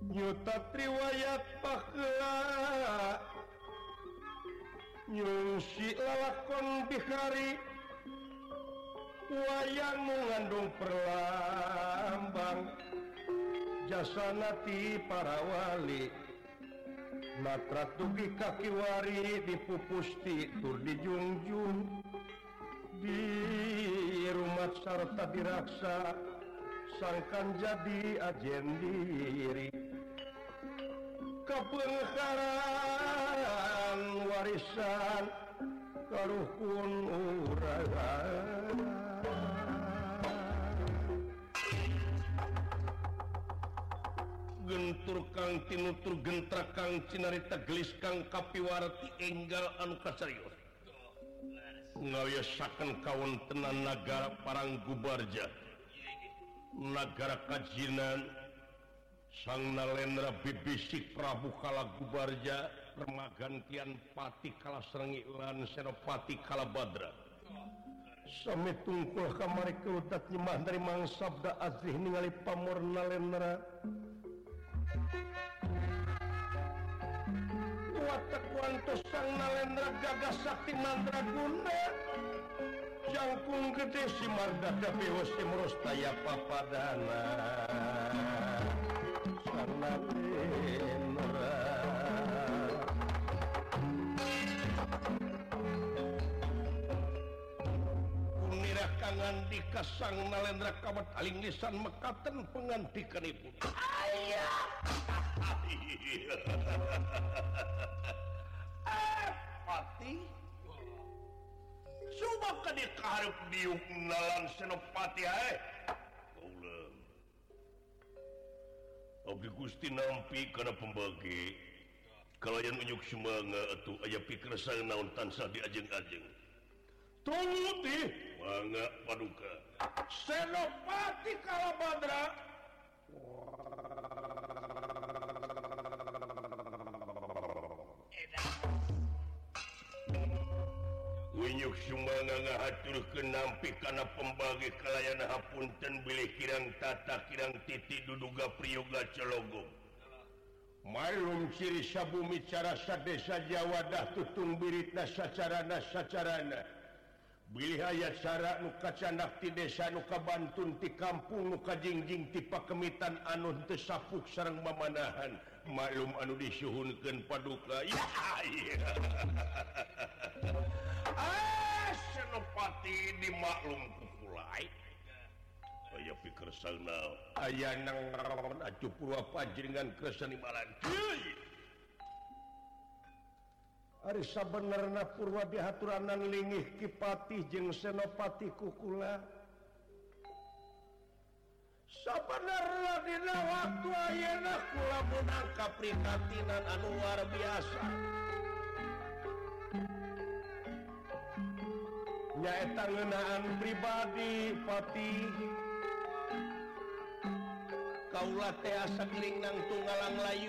nyuta riwayat pakeula nyungsi lalakon bihari wayang mengandung perlambang jasana ti para wali matra tugi kaki wari dipupusti tur dijunjung di rumah sarta diraksa sangkan jadi ajen diri kepengkaran warisan karuhun urang gentur kang tinutur gentra kang cinarita gelis kang kapiwarti enggal anu kasarius ngawiasaken kawontenan nagara parang gubarja nagara kajinan sang nalendra bibisik Prabu kala gubarja remagan kian pati kala serengi lan senopati kala badra sami tungkul kamari keutat nyemah dari mang sabda azrih ningali pamor nalendra watak wantos sang nalendra gagah sakti mandraguna jangkung gede si mardada bewas si merostaya papadana sang nalendra punirah kangan dika sang nalendra kawat aling lisan mekaten pengantikanipun ayah pati subak ka di kaharep diuk nalan senopati hae kaulah abdi Gusti nampi kana pembagi kalayan unyuk semangat atuh aya pikersang naon tansah diajeng-ajeng tunggu ti mangga paduka senopati kalabadra Winyuk sumanga ngahaturkeun nampi kana pembagi kalayan hapunten bilih kirang tata kirang titi duduga priyoga cologong malum ciri sabumi cara sadesa jawadah tutung birita sacarana bilih aya cara nu kacandak ti desa nu kabantun ti kampung nu kajingjing ti pakemitan anu teu sapuk sareng mamanahan malum anu disuhunkeun paduka ya senopati dimaklum kukulai aya pikersang naon aya nang acu purwa panjenengan kersani malan ari sabenerna purwa dihaturanan lingih kipati jeung senopati kukula sabenerna dina waktu ayeuna kula meunang kaprihatinan anu luar biasa nyaeta ngeunaan pribadi pati kaula teh asa geuning nang tunggalang layu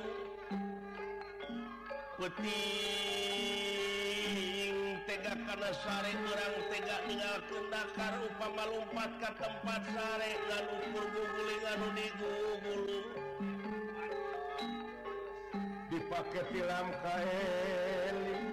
peuting tega kana sare urang tega ninggalkeun dakar upama lumpat ka tempat sare ngan ukur guguling anu digugulung dipake tilam kaeling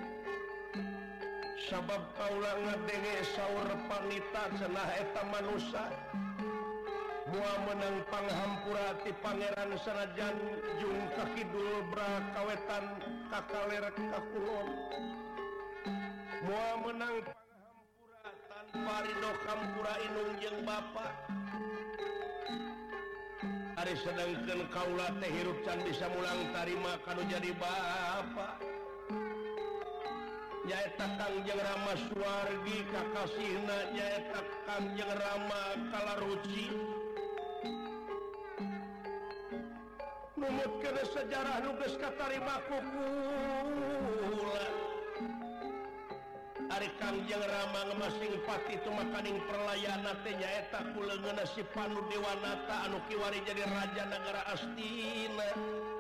sabab kaula ngadenge saur panita cenah eta manusia mua menang panghampura ti pangeran sanajan jung kakidul brakawetan kakaler kakulon mua menang panghampura tanpa ridho kampura inung jeung bapa ari sedengkeun kaula teh hirup can bisa mulang tarima kanu jadi bapa nyaeta Kangjeng Rama Suwargi kakasihna nyaeta Kangjeng Rama Kalaruci numutkeun sejarah nu geus katarima ku kula ari Kangjeng Rama ngemasing pati tu makaning perlayana teh nyaeta kuleungeunna si Panu Dewanata anu kiwari jadi raja nagara Astina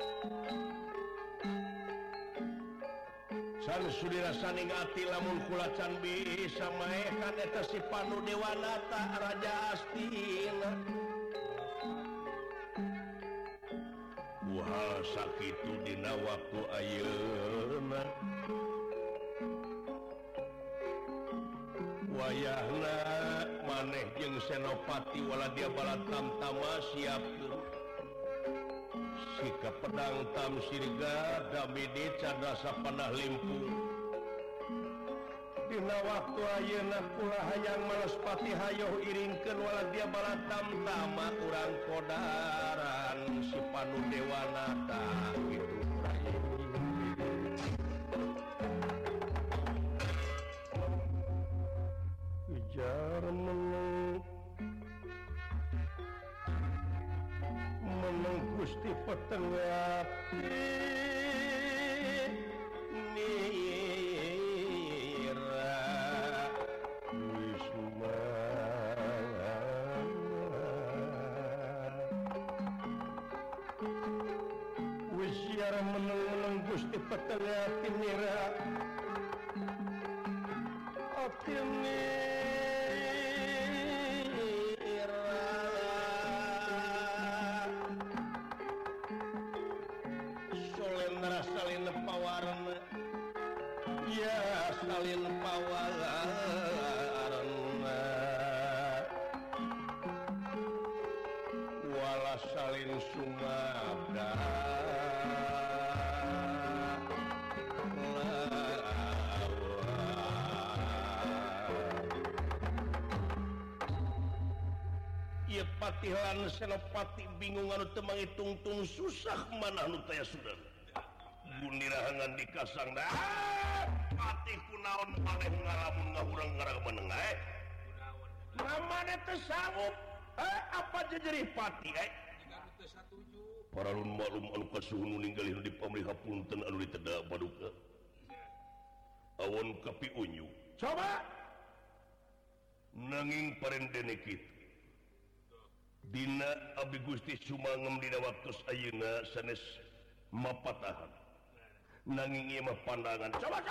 san sudira saning ati lamun kula can bisa maekan eta si Panu Dewanata raja Astina hal sakitu dina waktu ayeuna wayahna maneh jeung Senopati Waladia Balatamtama siapkeun sika pedang Tamsirga Damidi Cadasa Panah Limpung dina waktu ayeuna kula hayang Malespati hayoh iringkeun Waladia Balatamtama urang kodaran si Panu Dewanata kitu Ujar meneng Gusti Petengati Nira Wisma Wisiar meneng Gusti Petengati Nira Atini salin pawarna ya salin pawarna wala salin sumada ieu patihan Senopati bingung anu teu mangitung-tung susah mana anu taya sudah Gunirahangan dikasang patih kunaon maneh ngalamun ngahurang ngarang menengah namanya tersanggup apa jejerih patih para lun malum anu kasuhun ninggalin di pamliha punten anu ditedak paduka awon kapi unyu coba nanging parendene kitu dina abdi Gusti sumangem dina waktos ayeuna sanes mapatahan nanging ieu mah pandangan coba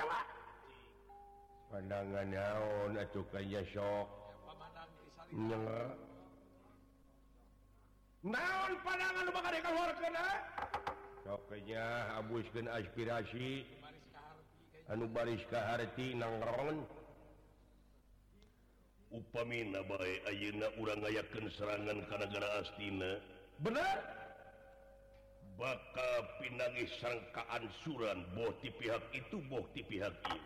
pandangan naon atuh kaya sok nyela naon pandangan nu bakal dikeluarkeun sok nya abuskeun aspirasi anu baris ka harti nangron upamina bae ayeuna urang ngayakeun serangan ka nagara Astina bener bakal pinangih sangkaan suran boh ti pihak itu boh ti pihak ieu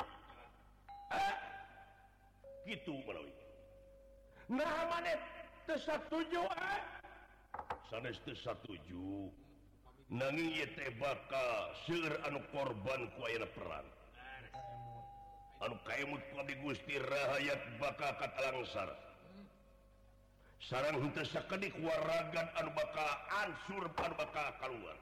gitu menawi nah maneh teu satuju sanes teu satuju nanging ieu teh bakal seueur anu korban ku ayeuna perang anu kaemut ku abdi Gusti rahayat bakal katalangsar sareng henteu sakedik waragan anu bakal ansur anu bakal kaluar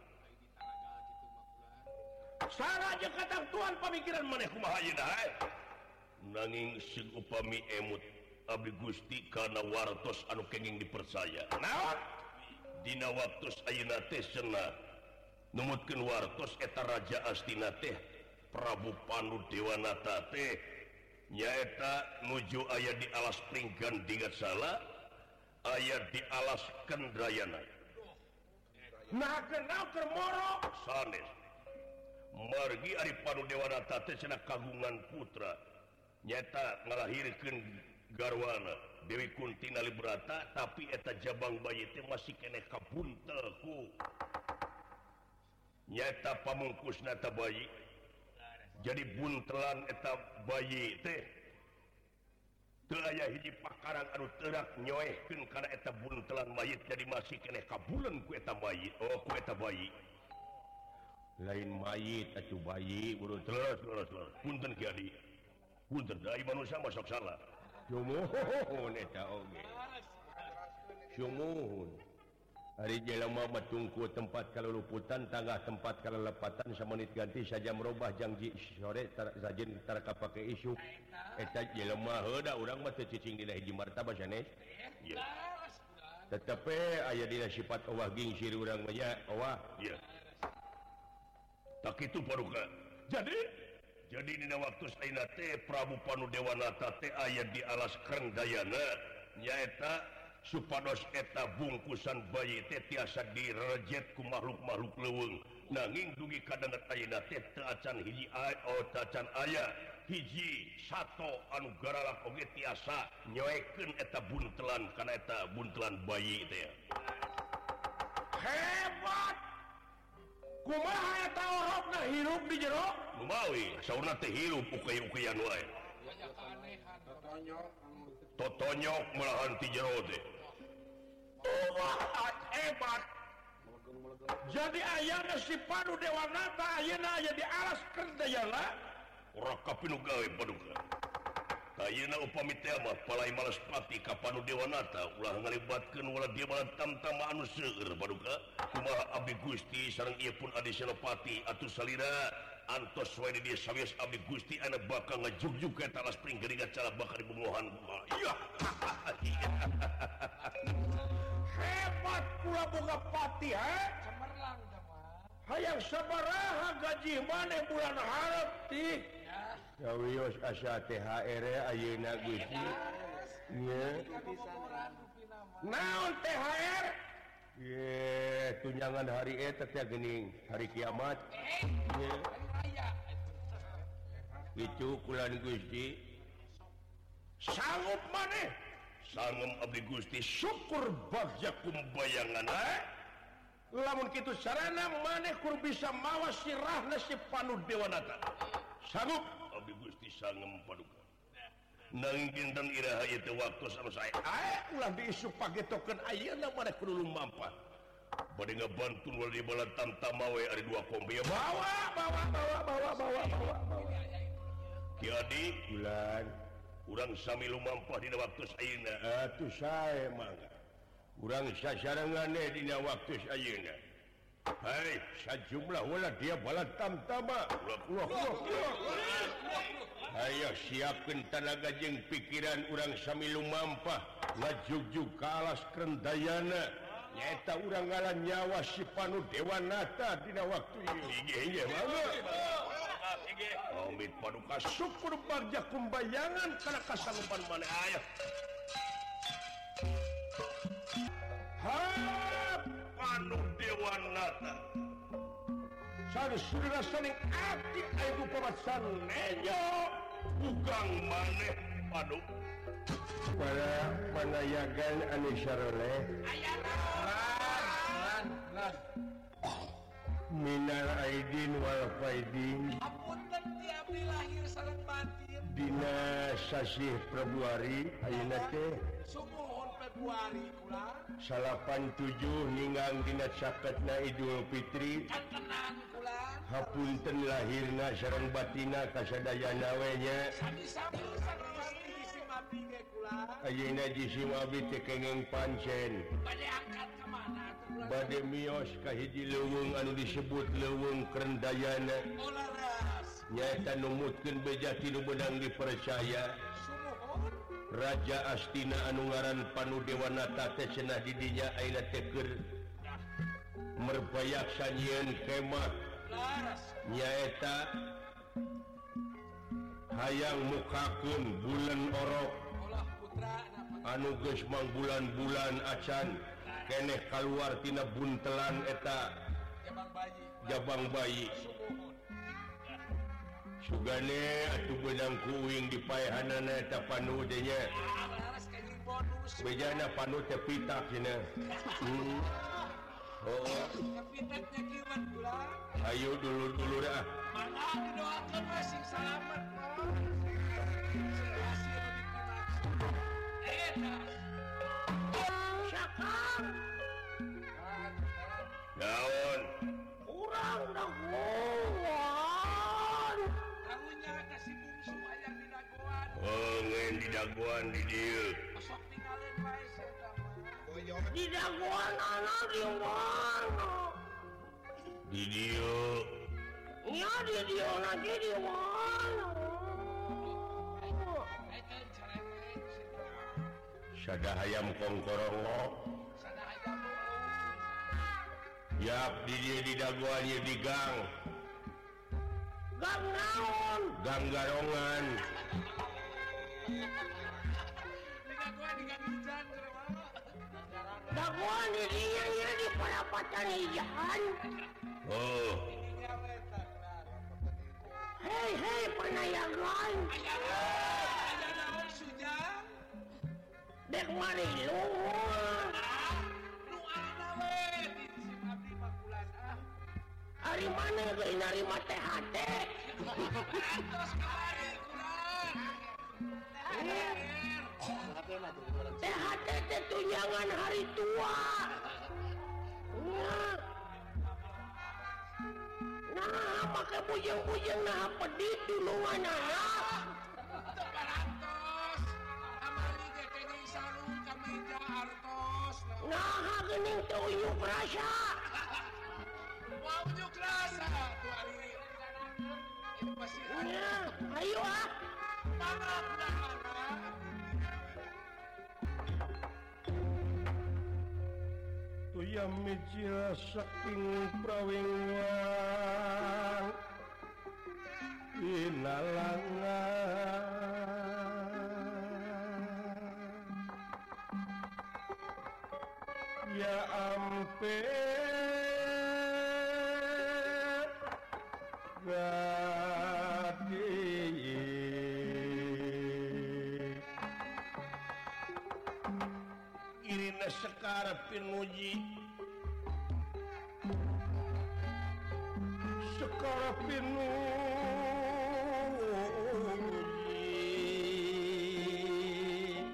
saraja katang Tuhan pamikiran maneh kumaha ayeuna nanging sing upami emut abdi Gusti kana wartos anu kenging dipercaya naon dina waktos ayeuna teh cenah numutkeun wartos eta Raja Astina teh Prabu Panu Dewanata teh nyaeta nuju aya di alas Pringgan Dingatsala aya di alas Kendrayana nah kenal keur moro sanes margi ari Panu Dewanata teh cenah kagungan putra nyata ngalahirkeun garwana Dewi Kunti Nalibrata tapi eta jabang bayi teh masih keneh kabuntel ku nyata pamungkusna eta bayi jadi buntelan eta bayi teh teu aya hiji pakarang anu teurak nyoehkeun kana eta buntelan mayit jadi masih keneh kabuleun ku eta mayit ku eta bayi lain mayit atuh bayi buru terus punten Ki Adi punten da manusia masuk salah sumuhun eta oge sumuhun hari jelema matungku tempat kaluluputan tangah tempat kalelepatan samanit ganti saja merubah janji sore sajen tara kapake isu eta jelema heuda urang mah teu cicing dina hiji martabah sanes ieu tetapi aya dina sifat Allah gingsir urang mah nya Allah ieu tak kitu paruka jadi dina waktu saina teh Prabu Panu Dewanata teh aya di alas Krenggayana nyaeta supados eta bungkusan bayi teh tiasa direjet ku makhluk-makhluk leuweung nanging dugi kadanget ayeuna teh teu acan hiji tacan aya hiji sato anu garalak oge tiasa nyoekeun eta buntelan kana eta buntelan bayi teh hebat kumaha eta orokna hirup di jero lumawi saurna teh hirup ukey-ukeyan wae totonyok malahan ti jero teh hebat jadi ayana si Panu Dewanata ayeuna aya di alas Kerdayana ora kapinu gawe paduka ayeuna upami teh mah palai Malaspati ka Panu Dewanata ulah ngalibatkeun wala dia bala tamtama anu seueur paduka kumaha abdi Gusti sareng ieu pun Adi Senopati atuh salira antos wae di dieu sawias abdi Gusti anu bakal ngajugjug ka talas pring geuningan cara bakal dibunuhan iya hebat pula boga pati cemerlang hayang sabaraha gaji maneh bulan hareup ti ya wios asa THR ayeuna Gusti nya naon THR ye tunjangan hari eta teh geuning hari kiamat ye kitu kulan Gusti sanggup maneh sangem abdi Gusti syukur bagja kumbayangan lamun kitu sarana maneh kur bisa mawas sirahna si Panu Dewanata sanggup abdi Gusti sangem paduka nanging dinten iraha ieu teh waktu sama saya ulah diisu pagetokeun ayeuna maneh kudu lumampah bade ngabantun wal di bala tamtama we ari dua kombe bawa Ki Adi bulan urang sami lumampah dina waktu ayeuna atuh sae mangga urang sasarengan dina waktu ayeuna hai sajumlah wala dia bala tamtama ayo siapkeun tenaga jeung pikiran urang sami lumampah ngajugjug ka alas Kerdayana nyaeta urang ngaran nyawa si Panu Dewanata dina waktu ieu mangga amit paduka syukur bagja kumbayangan kana kasanggupan maneh aya Panu Dewanata saudara saning ati aya pamasan nejo bugang maneh Panu para panayagan anu saroleh ayana minal aidin wal faidin apunten ti abdi lahir sareng batin dina sasih Februari ayeuna teh sumuhun Februari kula 87 ninggang dina saketna Idul Fitri kantenan kula hapunten lahirna sareng batina kasadayana we nya sami-sami sanes di abdi ge kula ayeuna jisim abdi teh kenging pancen bade angkat ka mana atuh bade mios ka hiji leuweung anu disebut leuweung Kerdayana nyaeta numutkeun beja ti nu beunang dipercaya Raja Astina anu ngaran Panu Dewanata teh cenah di dinya ayeuna teh keur merbayak sanjieun kemah nyaeta hayang mukakeun bulan orok anu geus mang bulan-bulan acan keneh kaluar tina buntelan eta jabang bayi sugane atuh beunang kuing dipaehanana eta Panu teh nya bejana Panu teh pitak cenah pitaknya kieuan kula ayo dulur-dulur mangga didoakeun we sing salamet naon urang dagoan karunya kasih bungsu hayang di dagoan ngen di dagoan di dieu sok tinggalin wae eta mah di dagoan ana di mana di dieu nya di dieu lagi di mana sada hayam kongkorongo yap di dia di dagoan ya di gang naon gang garongan di dagoan di gang hujan daguan ini di Palapatan Ijan. Oh. Hei penayangan. Dek mari luhur. Hari mana geuy narima THT? THT teh tunjangan hari tua. Nah, make bujeng-bujeng nah pedit dulungan anak. Nah, geuning teu uyuk rasa. Unjuk rasa tuh hari ini pasti Ayo ah. maaf dah. Tuyam mijil saking prawingan inalangan ya ampe gadi irina sekara pinuji sekara pinuji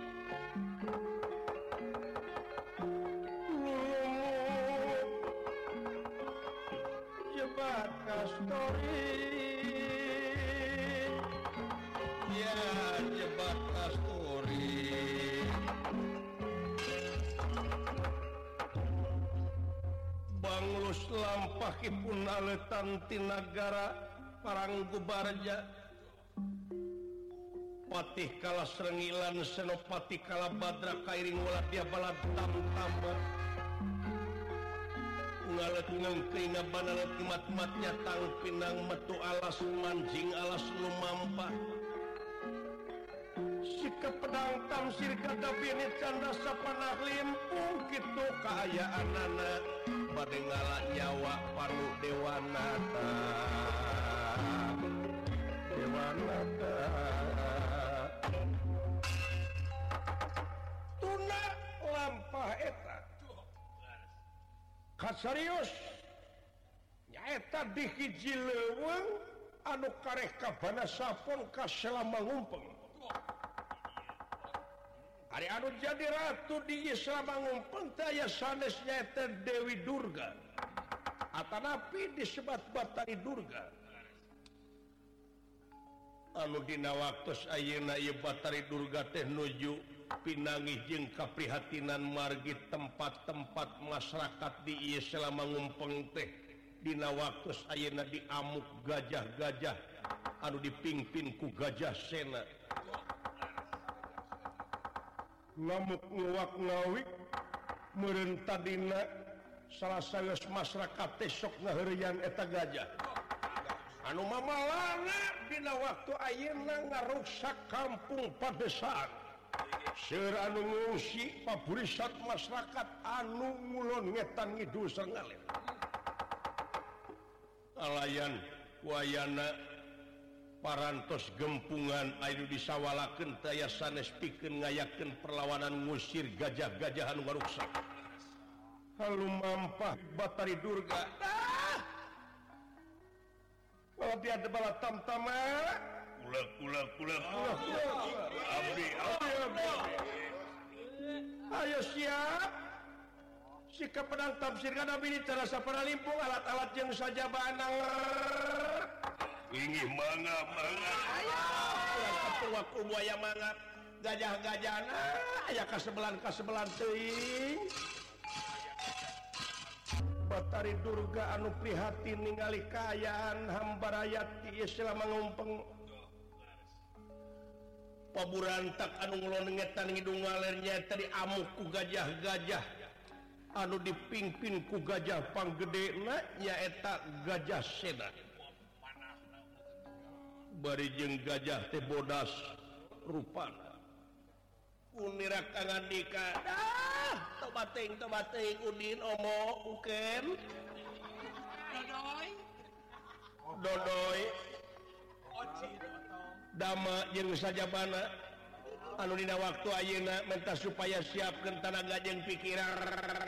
jebat kastori ya jebat kastori banglus lampahipun aletan ti nagara Paranggu Barja patih kala Srengilan senopati kala Badra kairing waladia balad tamtamba ngalet ngengkringa banalet mat-matnya tang pinang metu alas manjing alas lumampah sikap pedang tamsir gada binit canda sapanah limpung kitu kaayaanana bade ngala nyawa panu dewanata tuna lampah eta kasarius nyaeta di hiji leuweung anu kareh kabana sapon ka selama ngumpeng hari anu jadi ratu di selama ngumpeng teh aya sanes nyaeta Dewi Durga atanapi disebat Batari Durga anu dina waktos ayeuna ieu Batari Durga teh nuju pinangih jeung kaprihatinan margi tempat-tempat masyarakat di ieu selama ngumpeng teh dina waktos ayeuna diamuk gajah-gajah anu dipingpin ku Gajah Sena ngamuk nguwak ngawik meureun tadina salah sanes masyarakat teh sok ngaheureuyan eta gajah anu mamalana dina waktu ayeuna ngaruksak kampung Padesaan seueur anu ngungsi paburisat masyarakat anu ngulon ngetan ngidul sareng ngalih alayan wayana parantos gempungan anu disawalakeun teh aya sanes pikeun ngayakeun perlawanan ngusir gajah-gajah anu ngaruksak halumampah Batari Durga dia ada bala tamtama kula abdi ayo siap sikap pedang tafsir kana bini cara sapana limpung alat-alat yang saja banang ingih mangga ayo ketua buaya mangga gajah-gajana aya kasebelan teuing Batari Durga anu prihatin ningali kaayaan hamba rakyat ieu selama ngumpeng paburantak anu ngulon ngetan ngidung ngaler nyaeta diamuk ku gajah-gajah anu dipingpin ku gajah panggedena nyaeta Gajah Sena bari jeung gajah teh bodas rupana kunira kangandika tobating Udin Omo Uken Dodoy Dama jeung sajabana anu dina waktu ayeuna minta supaya siapkeun tanaga jeung pikiran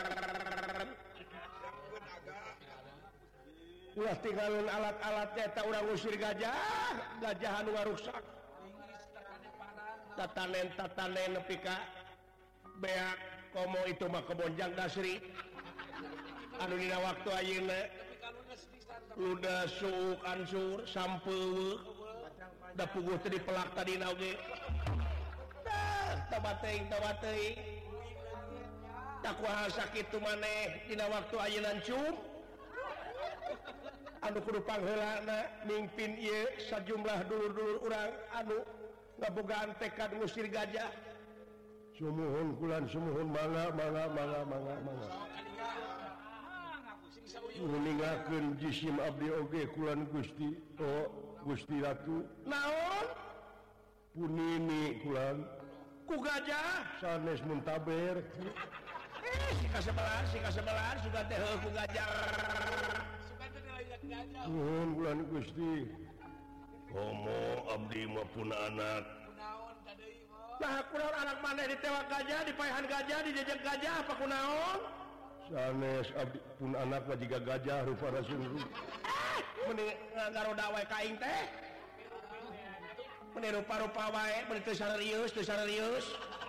ulah tinggalin alat-alatnya tak urang ngusir gajah anu ngarusak tatanen nepi ka beak komo itu mah kebonjang dasri anu dina waktu ayeuna udah suuk ansur sampeuweuk da puguh teh dipelak tadina oge tobat teuing tak kuaha sakitu maneh dina waktu ayeuna cum anu kudu pangheulana mingpin ieu sajumlah dulur-dulur urang anu ngabogaan tekad ngusir gajah sumuhun kulan sumuhun mangga ningakeun jisim abdi oge kulan Gusti Gusti Ratu naon punini kulan ku gajah sanes muntaber si kasebelah suka teh ku gajah nuhun kulan Gusti komo abdi maupun anak nah kunaon anak maneh ditewak gajah dipaehan gajah dijejeg gajah apa kunaon sanes abdi pun anak mah jiga gajah rupana sungguh mending ngaroda wae ka aing teh mending rupa-rupa wae mending teu serius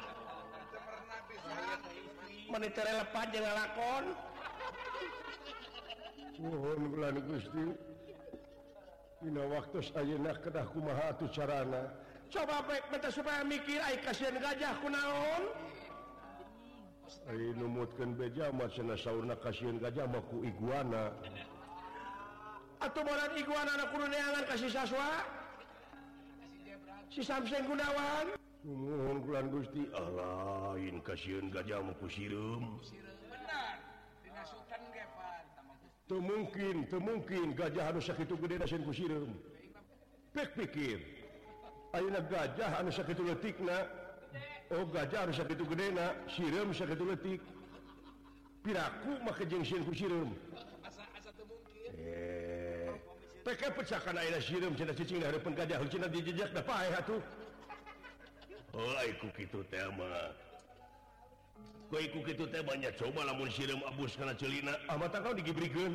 mending teu relevan jeung ngalakon nuhun kulan Gusti dina waktos ayeuna kedah kumaha atuh carana coba baik minta supaya mikir ai kasihan gajah kunaon ai numutkeun beja mah cenah saurna kasihan gajah mah ku iguana atuh boran iguana na kudu neangan ka si Saswa si Samseng Gunawan nuhun kulan Gusti lain kasihan gajah mah ku sireum benar dinasukan ge pan teu mungkin gajah anu sakitu gedena sieun ku sireum pek pikir ayeuna gajah anu sakitu leutikna gajah anu sakitu gedena sireum sakitu leutik piraku mah jeung sieun ku sireum asa teu mungkin peke pecakan ayeuna sireum cenah cicing hareupeun gajah cenah dijejak da paeh atuh ai ku kitu teh mah ku kitu teh banyak coba lamun sireum abus kana ceulina mah tangkau digibrikeun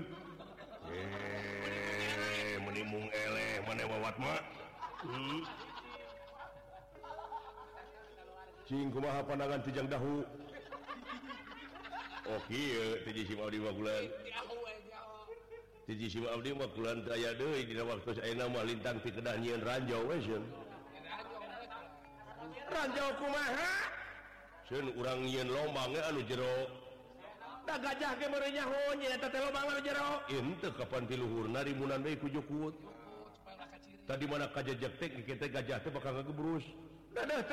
meni mung eleh maneh wawat mah cing kumaha pandangan tijang dahu kieu ti jisim abdi mah kulan ti jisim abdi mah kulan teu aya deui dina waktu ayeuna mah lintang ti kedah nyieun ranjau we seun ranjau kumaha seun urang nyieun lombang anu jero da gajah ge meureuh nyaho nyeuna teh lombang anu jero henteu kapan ti luhurna rimunan deui ku jukut tadi mana kajejeg teh kitu gajah teh bakal ngagebrus dadah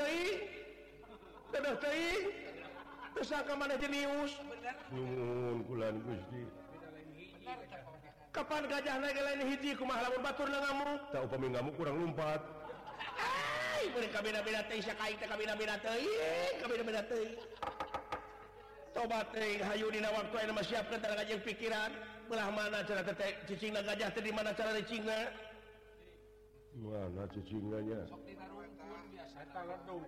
teuing teu sangka maneh jenius nuhun kulan Gusti kapan gajahna ge lain hiji kumaha lamun baturna ngamuk tah upami ngamuk kurang lumpat mereka beda-beda teuing sakaing teh kabeda-beda teuing tobat teuing hayu dina waktu ayeuna mah siapkeun tanaga jeung pikiran belah mana cara teh cicingna gajah teh di mana cara cicingna mana cicingna nya sok dinarungkeun biasa eta ledung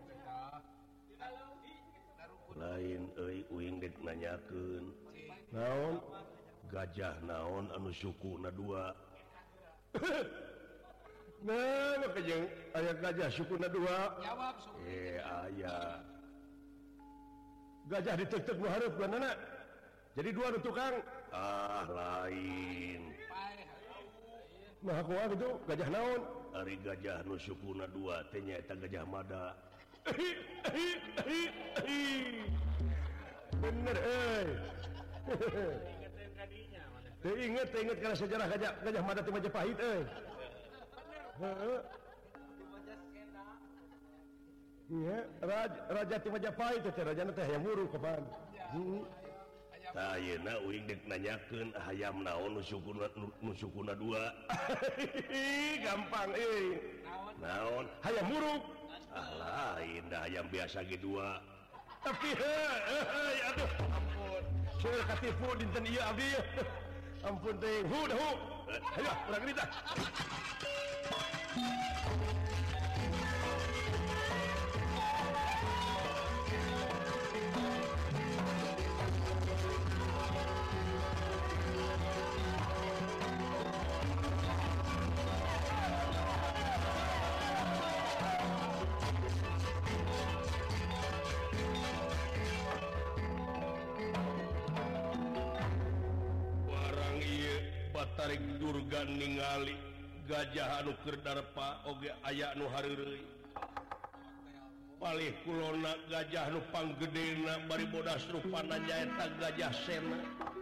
lain euy uing dek nanyakeun naon gajah naon anu sukuna dua nah maka jeung aya gajah sukuna dua jawab aya gajah diteuk-teuk nu hareupeunana jadi dua nu tukang lain nah kumaha kitu gajah naon ari gajah nu sukuna dua teh nyaeta gajah mada bener inget karena sejarah gajah mada di Majapahit iya raja di Majapahit teh rajana teh hayam huruf kapan tah ayeuna uing dek nanyakeun hayam naon nu sukuna dua gampang naon hayam huruf lain dah hayam biasa ge dua tapi aduh ampun saya katipu dinten ieu abdi ampun teh dah ayo urang kita tarik durga ningali gajah anu keur darpa oge aya nu hareureuy palih kulona gajah nu panggedena bari bodas rupana nyaeta gajah sena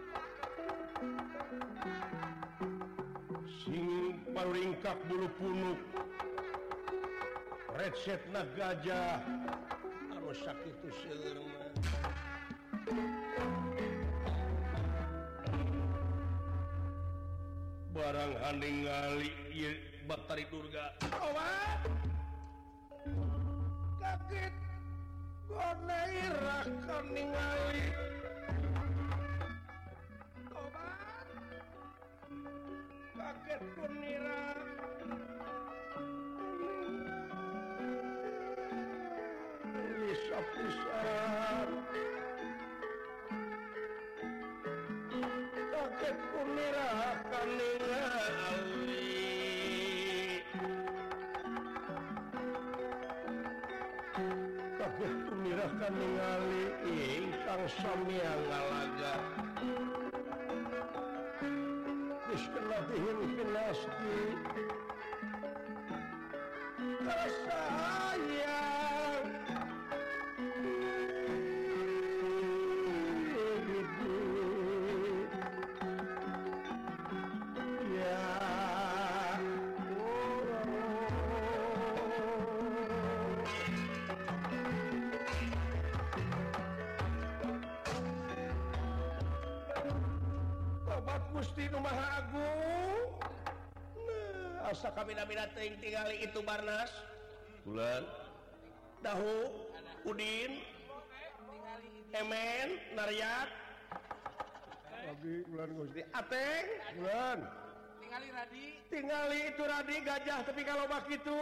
sing paringkak bulu punuk recetna gajah anu sakitu seueur barang haningali ieu Batari Durga. Kaget gone irah kan ningali. Kaget kunira. Bisa-bisa. Kaget kunira kan ningali. Kaget kunira kan ningali ingkang sami ngalaga. Geus kena dihin pinasti. Kasayang. Gusti Nu Maha Agung. Nah, asa kabina-bina teuing tingali itu Barnas. Bulan. Dahu, Udin, Emen, Naryat. Lagi bulan Gusti. Ateng, bulan. Tingali Radi. Tingali itu Radi gajah tapi kalau bak itu.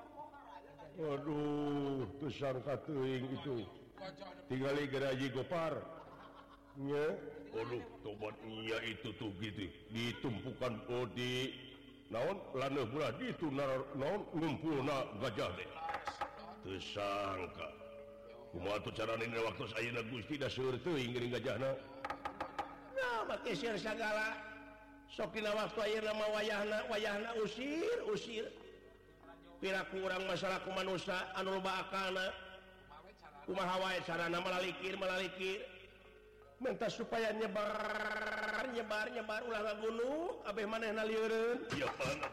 Waduh, teu sangka teuing itu. Tingali Geraji Gopar. Nya. Waduh, tobat iya itu tuh gitu. Ditumpukan di naon laneuh bulah ditu naon ngumpulna gajah teh. Teu sangka. Kumaha atuh carana waktu ayeuna Gusti da seueur teuing geuning gajahna. Nah, make seueur sagala. Sok dina waktu ayeuna mah wayahna usir. Piraku urang masalah ku manusia anu loba akalna. Kumaha wae carana malalikir. Minta supaya nyebar ulah ngagunung abeh manehna lieureun. Iya Pak.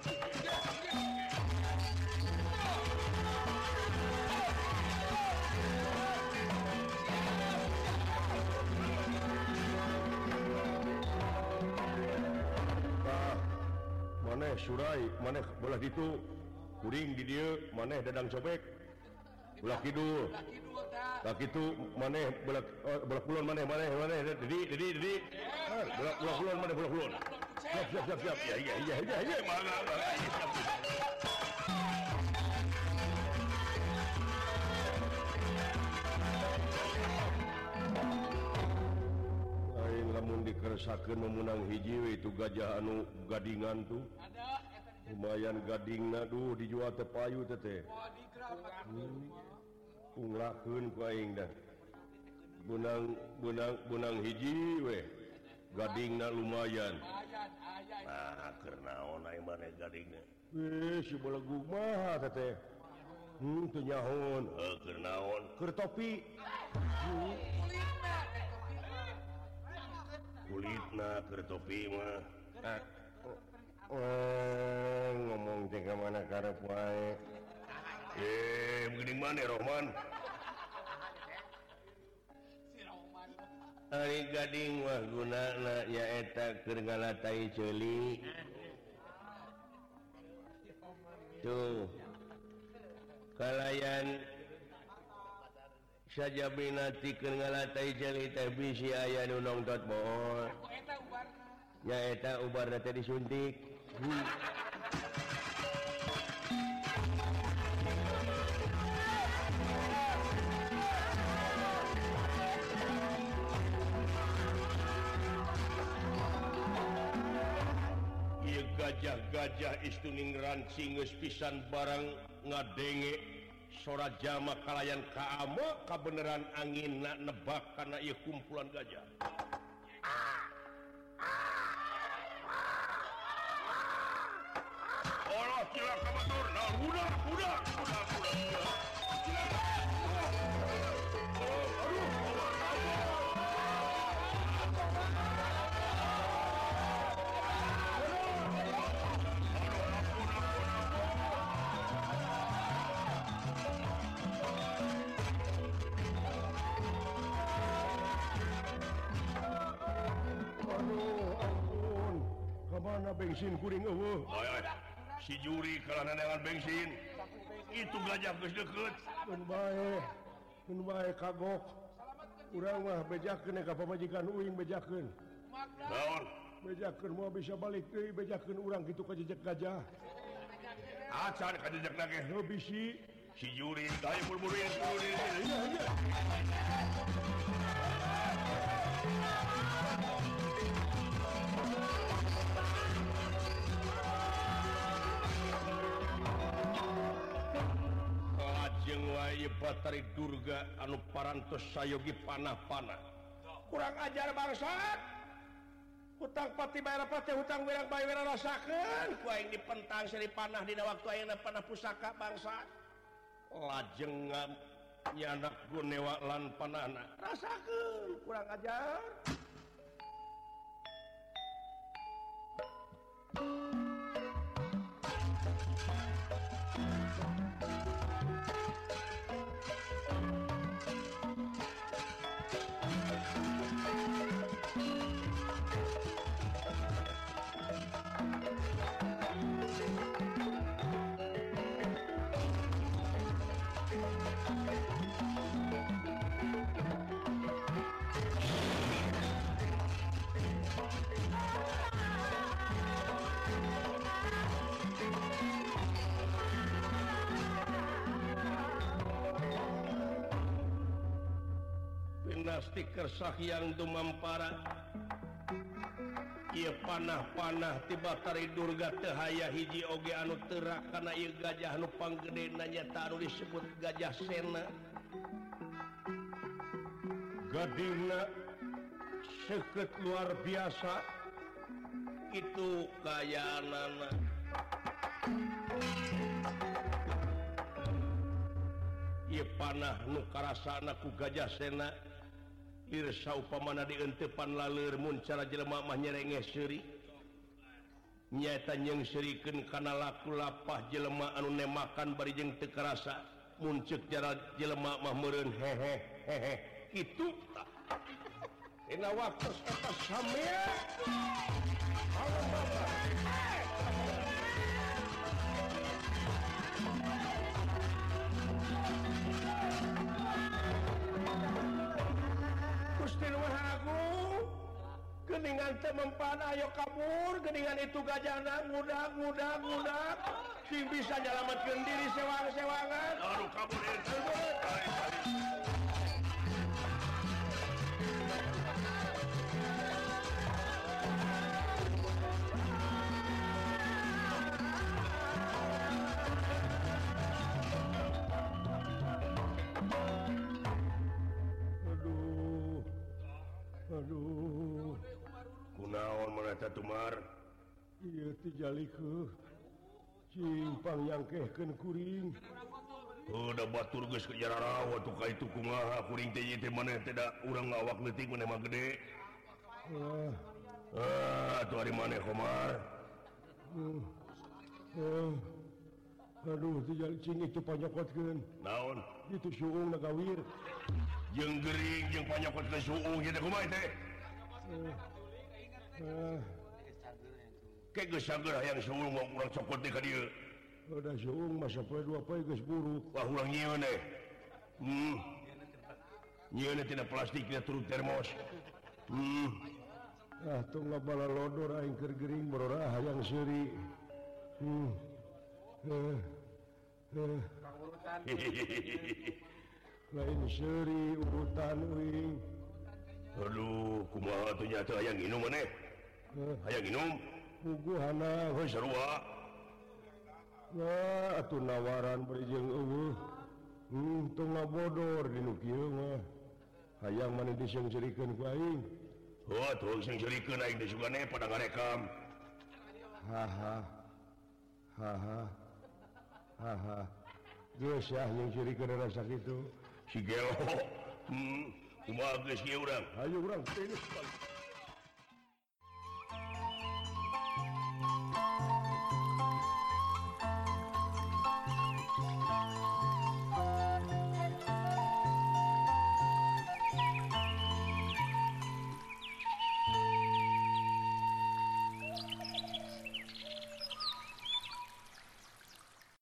Maneh surai, maneh belah ditu kuring di dieu, maneh dadang cobek. Belah kidul. Tak itu maneh belah kulon maneh dedi belah kulon maneh belah kulon siap iya mana aing lamun dikeresakeun memunang hiji we itu gajah anu gadingan tuh lumayan gadingna duh dijual teh payu teh unglakeun ku aing dah. Benang hiji we. Gadingna lumayan. Nah, keur naon aya maneh gadingna? Si balagu mah teh. Teu nyahoon. Keur naon? Keur topi. Kulitna keur topi mah. Ngomong teh ka mana karep wae. Begini mana Rohman? Ari gading wah gunana nyaeta keur ngalatai ceuli. Tuh. Kalayan saja binatikeun ngalatai jali teh bisi aya nu nongtot bohong nyaeta ubarna teh disuntik. Ieu gajah-gajah istuning rancing geus pisan barang ngadenge sora jama kalayan kaama kabeneran anginna nebak kana ieu kumpulan gajah. Allah cilaka batur, nah udah. Kemana bensin kuring eueuh? Si juri kalana dengan bensin. Itu gajah geus deukeut. Mun bae kagok. Urang mah bejakeun ka pamajikan uing bejakeun. Naon? Bejakeun moal bisa balik deui bejakeun urang kitu ka jejak gajah. Acan ka jejak nage heuh bisi. Si juri dae buru-buru iya. Batari Durga anu parantos sayogi panah-panah kurang ajar bangsat hutang pati bayar pati hutang wirang bayi wirang rasakeun ku aing dipentang seri panah dina waktu ayeuna panah pusaka bangsat lajeng nyanak gunewa lan panahna rasakeun kurang ajar. Stiker sahyang dumampara ieu panah-panah ti Batari Durga teu haya hiji oge anu teurak kana ieu gajah anu panggedena nyata anu disebut gajah sena. Gadingna seukeut luar biasa itu kayaanana. Ieu panah nu karasana ku gajah sena irsa upamana dieunteupan laleur mun cara jelema mah nyerengeh seuri nyaeta nyeungseurikeun kana laku lapah jelema anu nemakan bari jeung teu karasa mun ceuk jara jelema mah meureun hehe kitu dina waktu eta samea geningan teu mempan ayo kabur geningan itu gajahna ngudag sing bisa nyalametkeun diri sewang-sewangan aduh kabur itu aduh kunaon mana Tumar ieu teh jalikeun simpang nyangkehkeun kuring udah batur geus ke jararawa tuh ka itu kumaha kuring teh ieu teh maneh teh da urang ngawak leutik maneh mah gede atuh ari maneh Komar aduh teh cing itu panyokotkeun naon itu suung nagawir jeung gering jeung panyokotkeun suung ieu teh kumaha teh kayak geus sager hayang suung mau urang cokot teh ka dieu. Udah suung masa poe dua poe geus buru. Wah urang nyieun deh. tidak plastiknya turut termos lodor gering yang seri lain seri urutan Aduh kumanyata yang minum minum atuh nawaran berijeng bodor di hayang man diserikan naik pada rekam haha yang cirikan rasa itu si Gelo ayo orang